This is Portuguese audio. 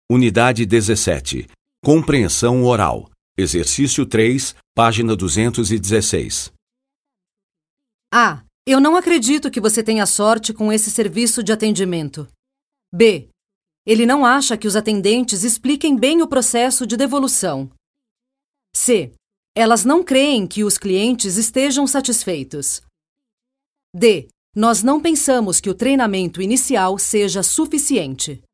Unidade 17. Compreensão oral. Exercício 3, página 216. A. Eu não acredito que você tenha sorte com esse serviço de atendimento. B. Ele não acha que os atendentes expliquem bem o processo de devolução. C. Elas não creem que os clientes estejam satisfeitos. D. Nós não pensamos que o treinamento inicial seja suficiente.